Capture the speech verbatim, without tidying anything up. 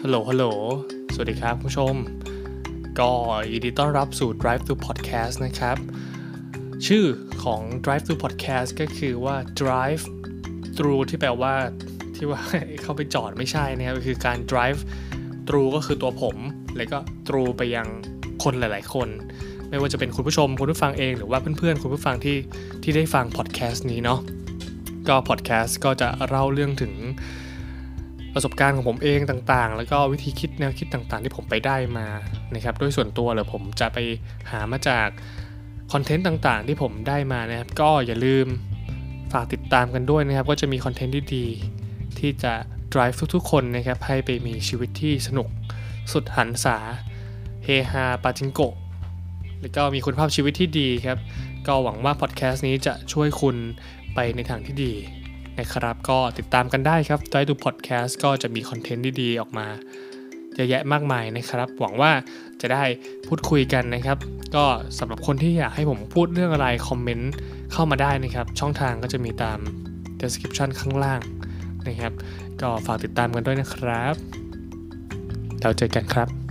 ฮัลโหลฮัลโหลสวัสดีครับผู้ชมก็ยินดีต้อนรับสู่ Drive Thru Podcast นะครับชื่อของ Drive Thru Podcast ก็คือว่า Drive Thru ที่แปลว่าที่ว่า เข้าไปจอดไม่ใช่นะครับก็คือการ Drive Thru ก็คือตัวผมแล้วก็ Thru ไปยังคนหลายๆคนไม่ว่าจะเป็นคุณผู้ชมคุณผู้ฟังเองหรือว่าเพื่อนๆคุณผู้ฟังที่ที่ได้ฟัง podcast นี้เนาะก็ podcast ก็จะเล่าเรื่องถึงประสบการณ์ของผมเองต่างๆแล้วก็วิธีคิดแนวคิดต่างๆที่ผมไปได้มานะครับโดยส่วนตัวเลยผมจะไปหามาจากคอนเทนต์ต่างๆที่ผมได้มานะครับก็อย่าลืมฝากติดตามกันด้วยนะครับก็จะมีคอนเทนต์ที่ดีที่จะ drive ทุกๆคนนะครับให้ไปมีชีวิตที่สนุกสุดหันษาเฮฮาปาจิงโกะแล้วก็มีคุณภาพชีวิตที่ดีครับก็หวังว่าพอดแคสต์นี้จะช่วยคุณไปในทางที่ดีนะครับก็ติดตามกันได้ครับได้ดูพอดแคสต์ก็จะมีคอนเทนต์ดีๆออกมาเยอะแยะมากมายนะครับหวังว่าจะได้พูดคุยกันนะครับก็สำหรับคนที่อยากให้ผมพูดเรื่องอะไรคอมเมนต์เข้ามาได้นะครับช่องทางก็จะมีตาม description ข้างล่างนะครับก็ฝากติดตามกันด้วยนะครับแล้วเจอกันครับ